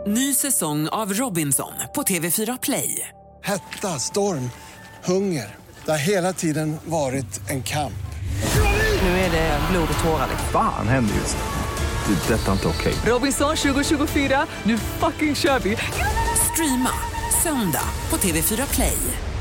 Ny säsong av Robinson på TV4 Play. Hetta, storm, hunger. Det har hela tiden varit en kamp. Nu är det blod och tårar. Fan händer just nu. Det. Detta är inte okej. Robinson 2024, nu fucking kör vi. Streama söndag på TV4 Play.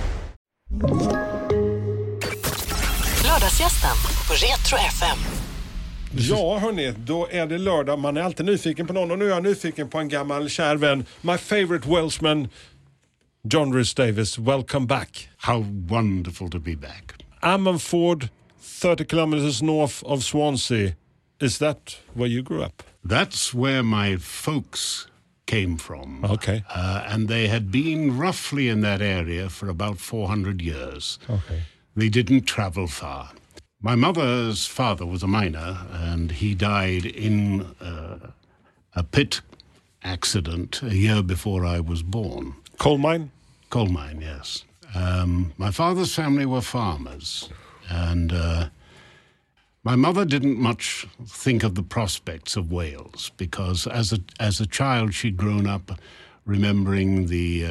Lördagsgästen på Retro FM. Ja hörni, då är det lördag. Man är alltid nyfiken på någon och nu är jag nyfiken på en gammal kär vän. My favorite Welshman, John Rhys Davies. Welcome back. How wonderful to be back. Ammanford, 30 kilometers north of Swansea. Is that where you grew up? That's where my folks came from. Okay. And they had been roughly in that area for about 400 years. Okay. They didn't travel far. My mother's father was a miner, and he died in a pit accident a year before I was born. Coal mine? Coal mine, yes. My father's family were farmers, and my mother didn't much think of the prospects of Wales because as a child she'd grown up remembering the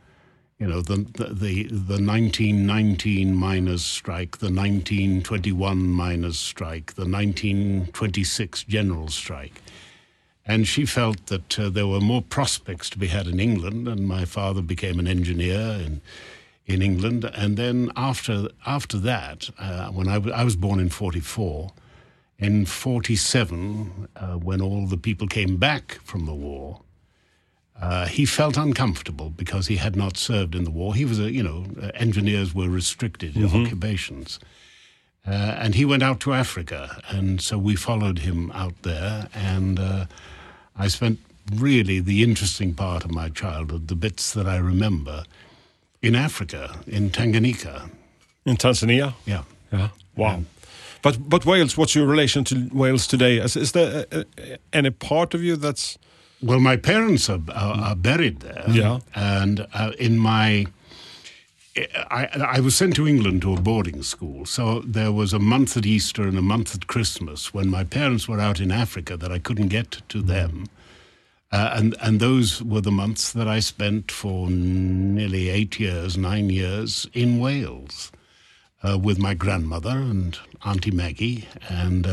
1919 miners' strike, the 1921 miners' strike, the 1926 general strike. And she felt that there were more prospects to be had in England, and my father became an engineer in England. And then after that, when I was born in 44, in 47, when all the people came back from the war, he felt uncomfortable because he had not served in the war. He was engineers were restricted occupations. And he went out to Africa, and so we followed him out there, and I spent really the interesting part of my childhood, the bits that I remember, in Africa, in Tanganyika. In Tanzania? Yeah. Wow. But Wales, what's your relation to Wales today? Is there any part of you that's... Well, my parents are buried there. Yeah. And I was sent to England to a boarding school. So there was a month at Easter and a month at Christmas when my parents were out in Africa that I couldn't get to them. And those were the months that I spent for nearly 9 years in Wales with my grandmother and Auntie Maggie. And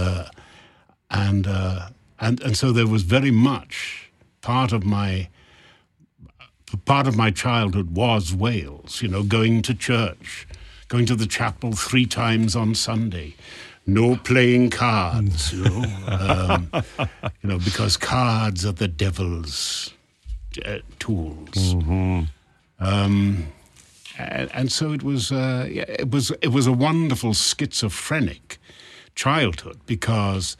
so there was very much... Part of my childhood was Wales, going to church, going to the chapel 3 times on Sunday, no playing cards, because cards are the devil's tools. Mm-hmm. And so it was a wonderful schizophrenic childhood because,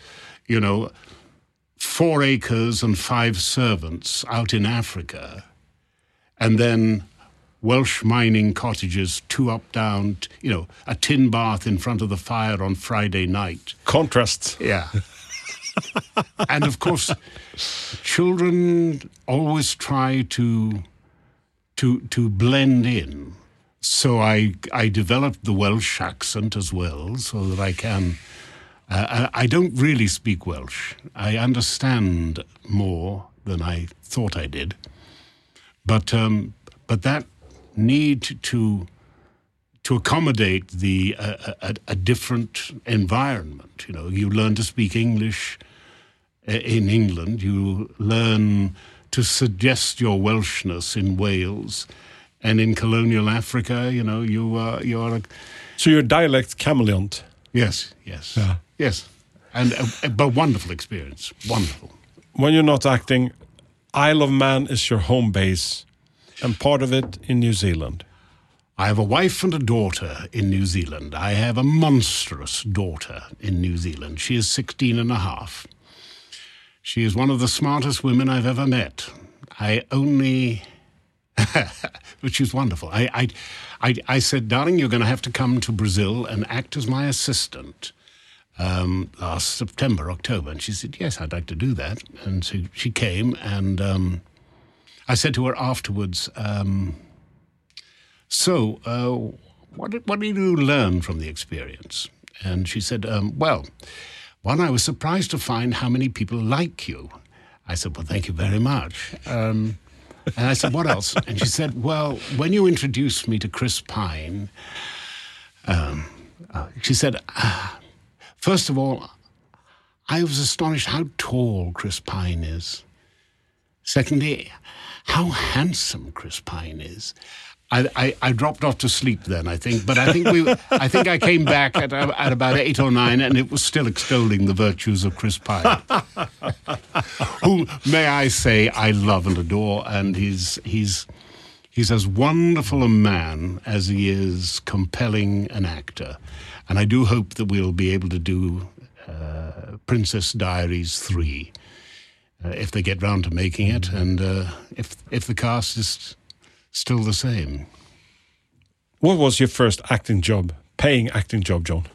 4 acres and 5 servants out in Africa, and then Welsh mining cottages, 2 up, down, a tin bath in front of the fire on Friday night. Contrasts. Yeah. And of course, children always try to blend in. So I developed the Welsh accent as well, so that I can... I don't really speak Welsh. I understand more than I thought I did. But that need to accommodate a different environment. You learn to speak English in England. You learn to suggest your Welshness in Wales, and in colonial Africa, you are. So you're a dialect chameleon. Yes. Yeah. Yes, but wonderful experience, wonderful. When you're not acting, Isle of Man is your home base, and part of it in New Zealand. I have a wife and a daughter in New Zealand. I have a monstrous daughter in New Zealand. She is 16 and a half. She is one of the smartest women I've ever met. Which is wonderful. I said, darling, you're going to have to come to Brazil and act as my assistant. Last September, October. And she said, yes, I'd like to do that. And so she came, and I said to her afterwards, what did you learn from the experience? And she said, well, one, I was surprised to find how many people like you. I said, well, thank you very much. And I said, what else? And she said, well, when you introduced me to Chris Pine, she said, first of all, I was astonished how tall Chris Pine is. Secondly, how handsome Chris Pine is. I dropped off to sleep then, I think, but I think I came back at about 8 or 9, and it was still extolling the virtues of Chris Pine, who, may I say, I love and adore, and he's as wonderful a man as he is compelling an actor, and I do hope that we'll be able to do Princess Diaries 3 if they get round to making it, and if the cast is still the same. What was your first acting job, paying acting job, John?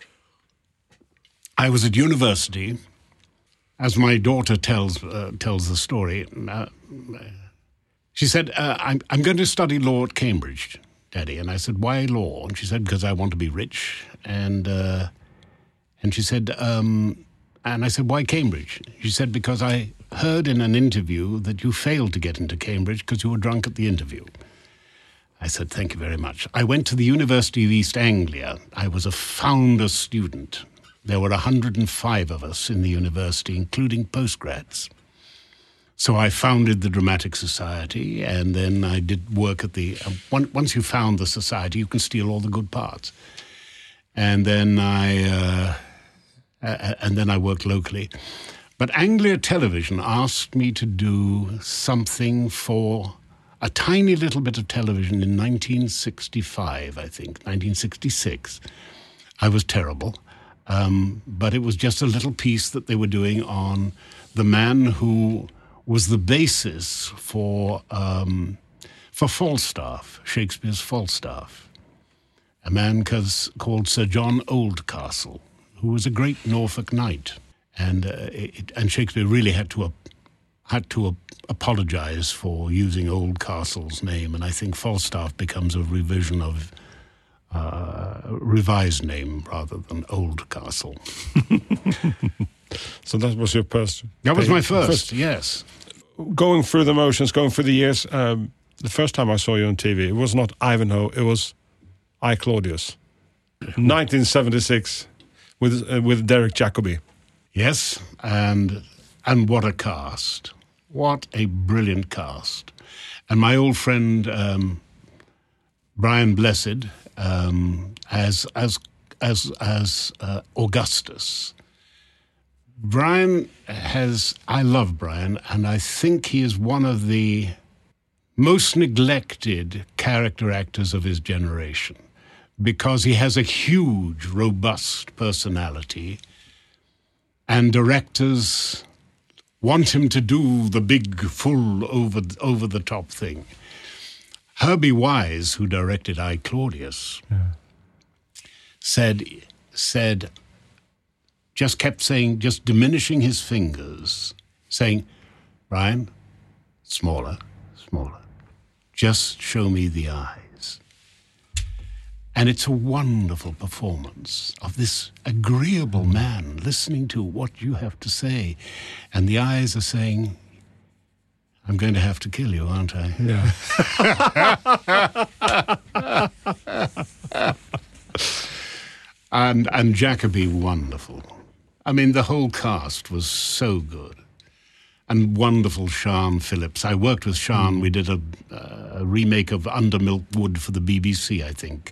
I was at university, as my daughter tells the story. She said, I'm going to study law at Cambridge, Daddy. And I said, why law? And she said, because I want to be rich. And she said, and I said, why Cambridge? She said, because I heard in an interview that you failed to get into Cambridge because you were drunk at the interview. I said, thank you very much. I went to the University of East Anglia. I was a founder student. There were 105 of us in the university, including postgrads. So I founded the Dramatic Society, and then I did work at the... once you found the society, you can steal all the good parts. And then I worked locally. But Anglia Television asked me to do something for a tiny little bit of television in 1965, I think, 1966. I was terrible, but it was just a little piece that they were doing on the man who was the basis for Falstaff, Shakespeare's Falstaff, a man called Sir John Oldcastle, who was a great Norfolk knight. And Shakespeare really had to apologize for using Oldcastle's name, and I think Falstaff becomes a revision of revised name rather than Oldcastle. So that was your first? That was my first, yes. Going through the motions, going through the years, the first time I saw you on TV, it was not Ivanhoe, it was I, Claudius. 1976 with Derek Jacobi. Yes, and what a cast. What a brilliant cast. And my old friend Brian Blessed as Augustus. I love Brian, and I think he is one of the most neglected character actors of his generation, because he has a huge, robust personality, and directors want him to do the big, full, over-the-top thing. Herbie Wise, who directed I, Claudius, said, just kept saying, just diminishing his fingers, saying, Brian, smaller, just show me the eyes. And it's a wonderful performance of this agreeable man listening to what you have to say. And the eyes are saying, I'm going to have to kill you, aren't I? Yeah. And Jacobi, wonderful. I mean, the whole cast was so good. And wonderful Sian Phillips. I worked with Sian. We did a remake of Under Milk Wood for the BBC, I think,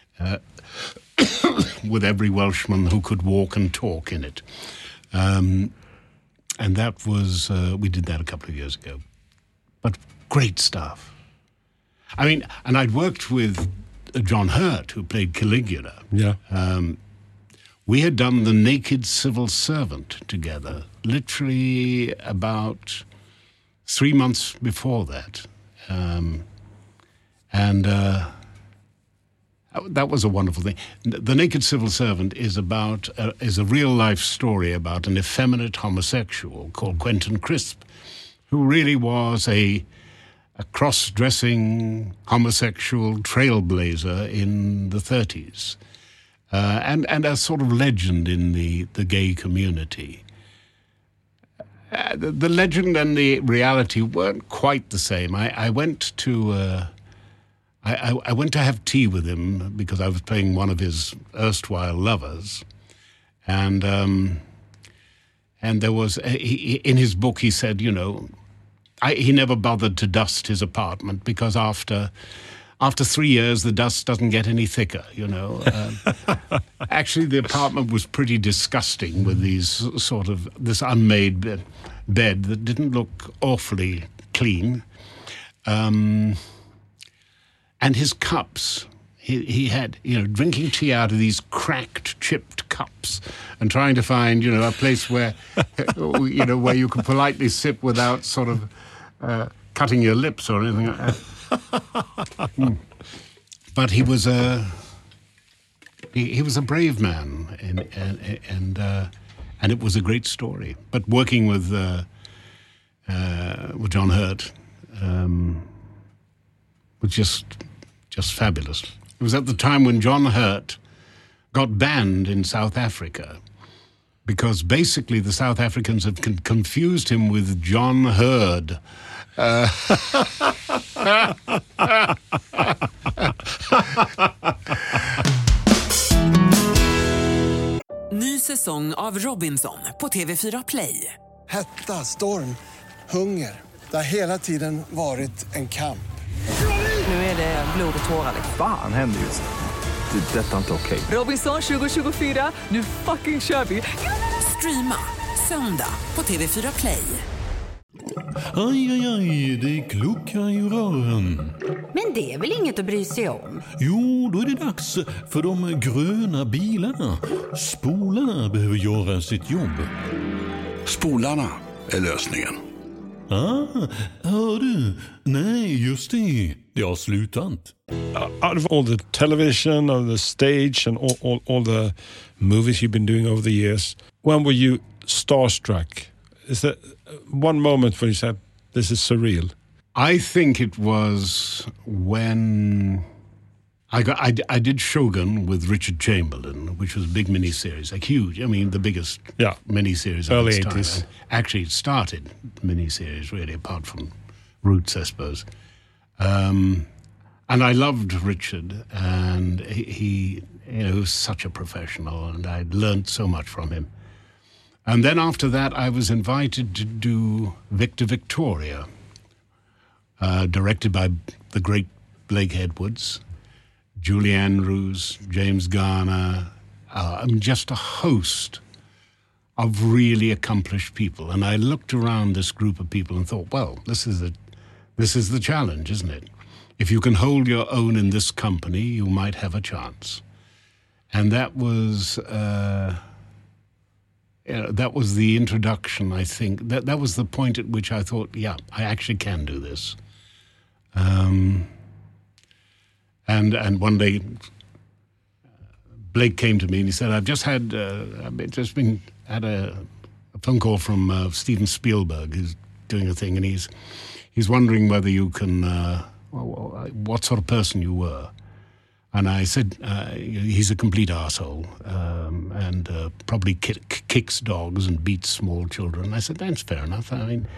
with every Welshman who could walk and talk in it. And that was, we did that a couple of years ago. But great stuff. I mean, and I'd worked with John Hurt, who played Caligula. Yeah. We had done The Naked Civil Servant together, literally about 3 months before that. That was a wonderful thing. The Naked Civil Servant is a real-life story about an effeminate homosexual called Quentin Crisp, who really was a cross-dressing homosexual trailblazer in the 30s. And a sort of legend in the gay community. The legend and the reality weren't quite the same. I went to I went to have tea with him because I was playing one of his erstwhile lovers, and there was in his book he said, you know, he never bothered to dust his apartment because after 3 years the dust doesn't get any thicker, you know. Actually, the apartment was pretty disgusting with these this unmade bed that didn't look awfully clean. And his cups, he had, you know, drinking tea out of these cracked, chipped cups and trying to find, you know, a place where, you know, where you could politely sip without sort of cutting your lips or anything like that. But he was a brave man, and it was a great story. But working with John Hurt was just fabulous. It was at the time when John Hurt got banned in South Africa because basically the South Africans had confused him with John Hurd. Ny säsong av Robinson på TV4 Play. Hetta, storm, hunger. Det har hela tiden varit en kamp. Nu är det blod och tårar. Fan händer just det. Det är detta inte okej. Robinson 2024, nu fucking kör vi. Streama söndag på TV4 Play. Aj, aj, aj, det kluckar i rören. Men det är väl inget att bry sig om? Jo, då är det dags för de gröna bilarna. Spolarna behöver göra sitt jobb. Spolarna är lösningen. Hör du? Nej, just det. Det har slutat. Out of all the television, of the stage and all the movies you've been doing over the years, when were you starstruck? Is there one moment when you said, this is surreal? I think it was when I did Shogun with Richard Chamberlain, which was a big miniseries, like huge. I mean, the biggest miniseries of its time. 80s. Actually, it started miniseries, really, apart from Roots, I suppose. And I loved Richard, and he you know, was such a professional, and I'd learned so much from him. And then after that, I was invited to do Victor Victoria, directed by the great Blake Edwards, Julie Andrews, James Garner, just a host of really accomplished people. And I looked around this group of people and thought, well, this is the challenge, isn't it? If you can hold your own in this company, you might have a chance. And that was the introduction, I think. That was the point at which I thought, yeah, I actually can do this. And one day, Blake came to me and he said, I've just had a phone call from Steven Spielberg, who's doing a thing, and he's wondering whether you can, what sort of person you were. And I said, he's a complete arsehole, and probably kicks dogs and beats small children. I said, that's fair enough. I mean,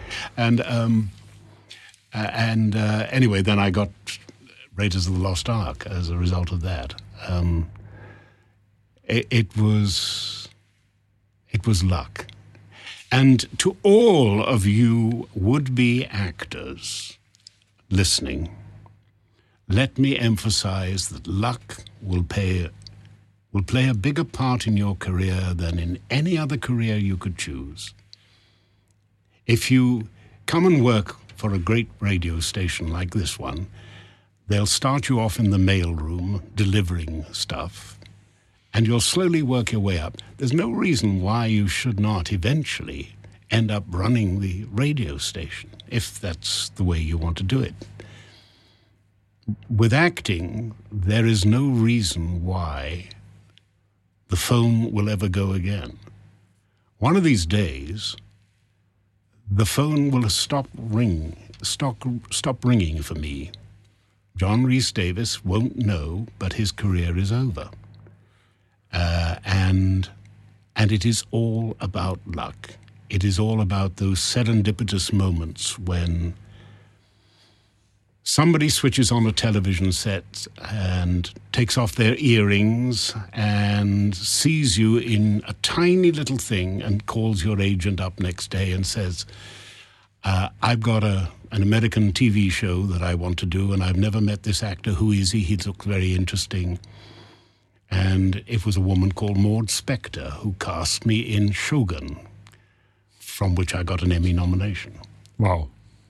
anyway, then I got Raiders of the Lost Ark as a result of that. It was luck. And to all of you would-be actors listening, let me emphasize that luck will play a bigger part in your career than in any other career you could choose. If you come and work for a great radio station like this one, they'll start you off in the mailroom delivering stuff, and you'll slowly work your way up. There's no reason why you should not eventually end up running the radio station, if that's the way you want to do it. With acting, there is no reason why the phone will ever go again. One of these days, the phone will stop ringing for me. John Rhys Davis won't know, but his career is over. And it is all about luck. It is all about those serendipitous moments when somebody switches on a television set and takes off their earrings and sees you in a tiny little thing and calls your agent up next day and says, I've got an American TV show that I want to do, and I've never met this actor. Who is he? He looks very interesting. And it was a woman called Maud Spector who cast me in Shogun, from which I got an Emmy nomination. Wow.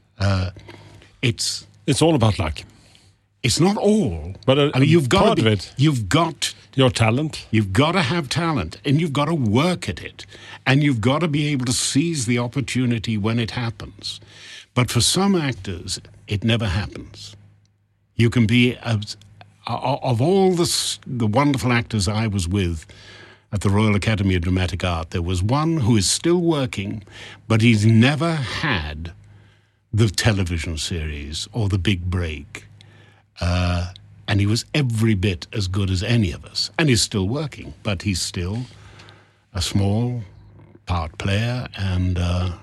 It's all about luck. It's not all, but I mean, you've got part to be, of it. You've got your talent. You've got to have talent, and you've got to work at it, and you've got to be able to seize the opportunity when it happens. But for some actors, it never happens. You can be of all the wonderful actors I was with at the Royal Academy of Dramatic Art, there was one who is still working, but he's never had the television series or the big break. And he was every bit as good as any of us. And he's still working, but he's still a small part player, and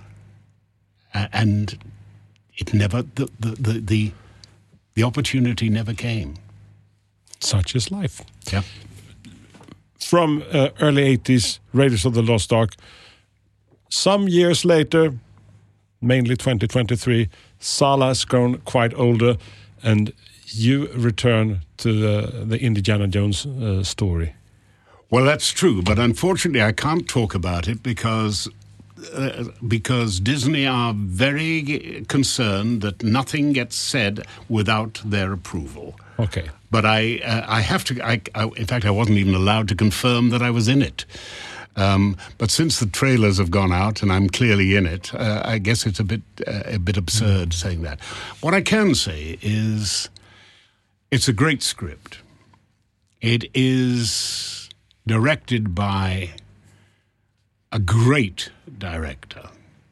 it never, the opportunity never came. Such is life. Yeah. From early 80s, Raiders of the Lost Ark. Some years later, mainly 2023, Sala has grown quite older, and you return to the Indiana Jones story. Well, that's true, but unfortunately I can't talk about it because Disney are very concerned that nothing gets said without their approval. Okay. But I have to. In fact, I wasn't even allowed to confirm that I was in it. But since the trailers have gone out and I'm clearly in it, I guess it's a bit absurd saying that. What I can say is, it's a great script. It is directed by a great director.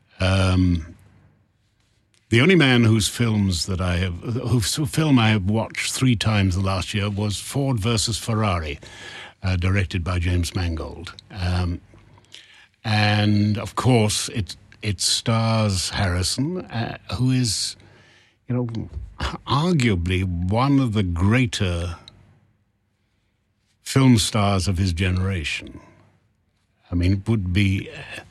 The only man whose film I have watched 3 times the last year was Ford versus Ferrari, directed by James Mangold. And of course, it stars Harrison, who is, arguably one of the greater film stars of his generation. I mean, it would be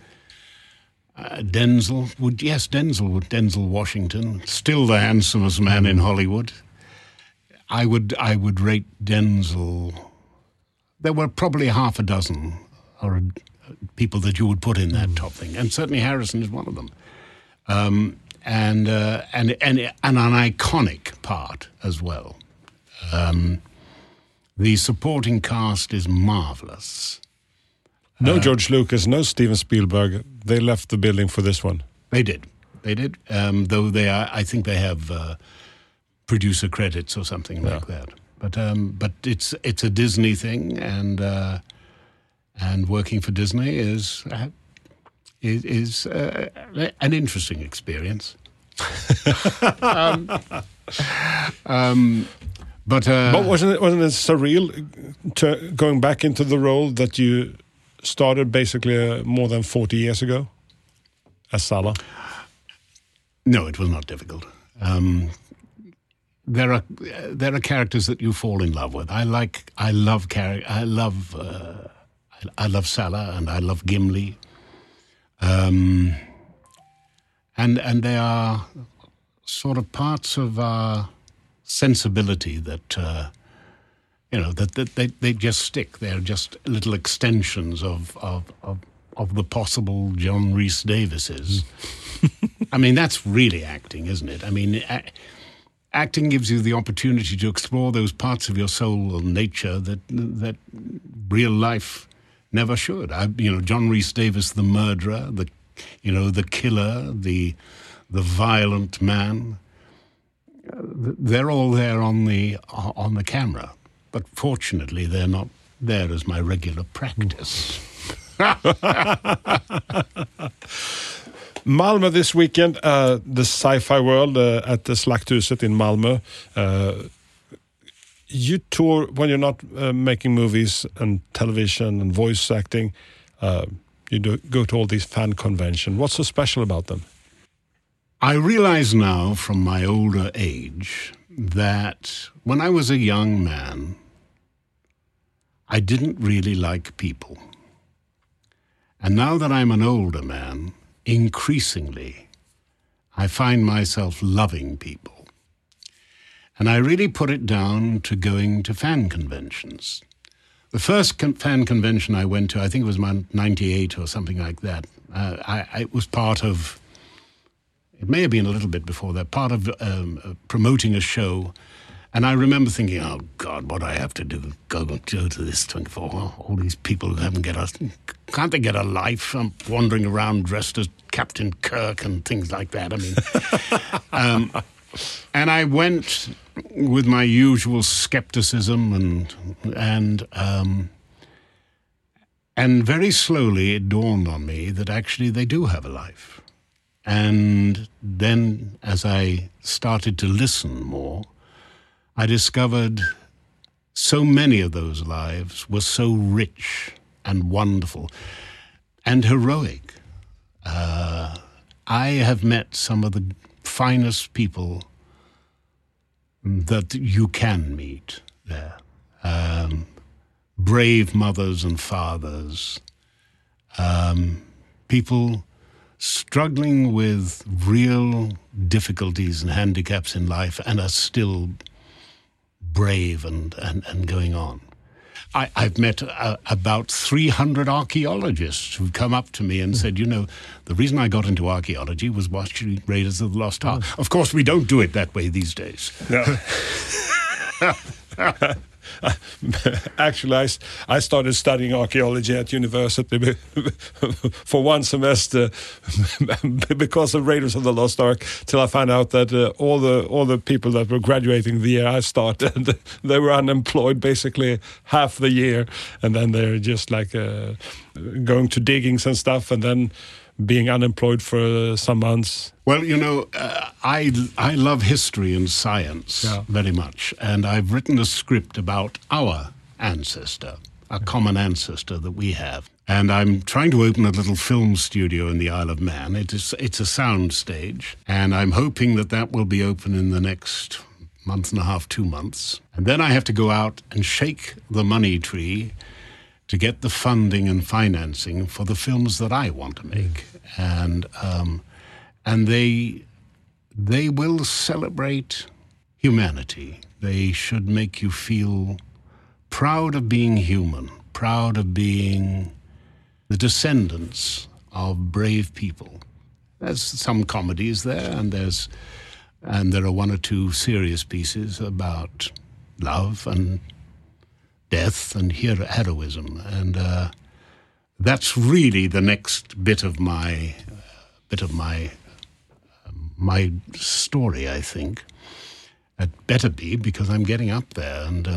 Denzel Washington, still the handsomest man in Hollywood. I would rate Denzel. There were probably half a dozen people that you would put in that top thing, and certainly Harrison is one of them. And an iconic part as well. The supporting cast is marvelous. No George Lucas, no Steven Spielberg. They left the building for this one. They did. Though I think they have producer credits or something like that. But it's a Disney thing, and working for Disney is an interesting experience. But wasn't it surreal going back into the role that you started basically more than 40 years ago as Sala? No, it was not difficult. There are characters that you fall in love with. I love Sala, and I love Gimli. And they are sort of parts of our sensibility that that they just stick. They're just little extensions of the possible John Rhys Davises. I mean, that's really acting, isn't it? I mean, acting gives you the opportunity to explore those parts of your soul and nature that real life never should. John Rhys Davis, the murderer, the killer, the violent man. They're all there on the camera, but fortunately they're not there as my regular practice. Malmö this weekend, the Sci-Fi World at the Slakthuset in Malmö. You tour when you're not making movies and television and voice acting. You go to all these fan conventions. What's so special about them? I realize now from my older age that when I was a young man, I didn't really like people. And now that I'm an older man, increasingly, I find myself loving people. And I really put it down to going to fan conventions. The first fan convention I went to, I think it was 98 or something like that. It was part of, it may have been a little bit before that, part of promoting a show. And I remember thinking, oh, God, what do I have to do? Go to this 24. All these people who can't they get a life? I'm wandering around dressed as Captain Kirk and things like that. I mean, and I went with my usual skepticism and very slowly it dawned on me that actually they do have a life. And then as I started to listen more, I discovered so many of those lives were so rich and wonderful and heroic. I have met some of the finest people that you can meet there. Brave mothers and fathers, people struggling with real difficulties and handicaps in life and are still brave and going on. I've met about 300 archaeologists who've come up to me and said, the reason I got into archaeology was watching Raiders of the Lost Ark. Of course, we don't do it that way these days. No. Actually, I started studying archaeology at university for one semester because of Raiders of the Lost Ark, till I found out that all the people that were graduating the year I started, they were unemployed basically half the year, and then they're just like going to diggings and stuff, and then being unemployed for some months. Well, I love history and science very much, and I've written a script about our ancestor, a common ancestor that we have. And I'm trying to open a little film studio in the Isle of Man. It's a sound stage, and I'm hoping that will be open in the next month and a half, 2 months. And then I have to go out and shake the money tree to get the funding and financing for the films that I want to make. And they will celebrate humanity. They should make you feel proud of being human, proud of being the descendants of brave people. There's some comedies there, and there are one or two serious pieces about love and death and heroism, and that's really the next bit of my story, I think. It better be, because I'm getting up there, and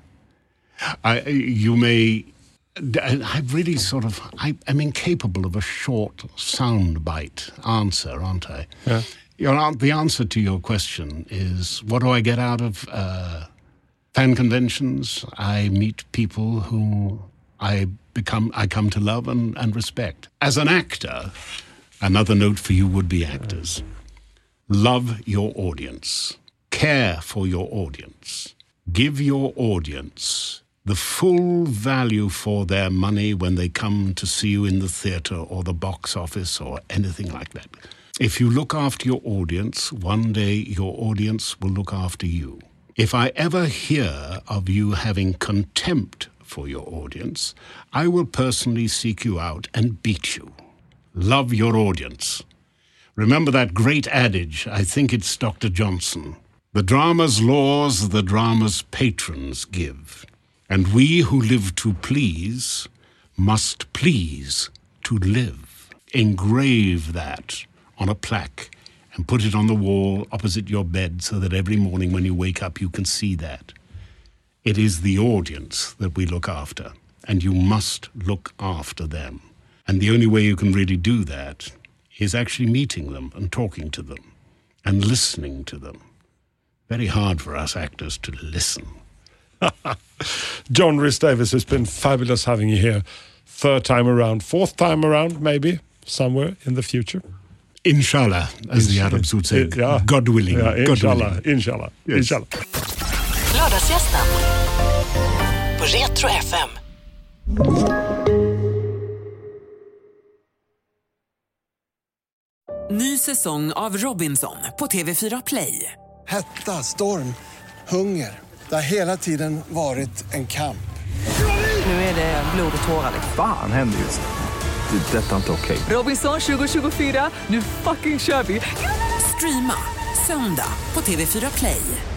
I'm incapable of a short soundbite answer, aren't I? Yeah. The answer to your question is, what do I get out of fan conventions? I meet people who I come to love and respect. As an actor, another note for you would-be actors: love your audience, care for your audience, give your audience the full value for their money when they come to see you in the theatre or the box office or anything like that. If you look after your audience, one day your audience will look after you. If I ever hear of you having contempt for your audience, I will personally seek you out and beat you. Love your audience. Remember that great adage, I think it's Dr. Johnson: the drama's laws, the drama's patrons give, and we who live to please must please to live. Engrave that on a plaque and put it on the wall opposite your bed so that every morning when you wake up you can see that. It is the audience that we look after, and you must look after them. And the only way you can really do that is actually meeting them and talking to them and listening to them. Very hard for us actors to listen. John Rhys Davies, it's been fabulous having you here. third time around, fourth time around, maybe somewhere in the future. Inshallah, as the Arabs would say. God willing. Inshallah. Yes. Inshallah. Lördagsgästen på Retro FM. Ny säsong av Robinson på TV4 Play. Hetta, storm, hunger. Det har hela tiden varit en kamp. Nu är det blod och tårar. Fan händer just det. Det är detta inte okej. Robinson 2024, nu fucking kör vi. Streama söndag på TV4 Play.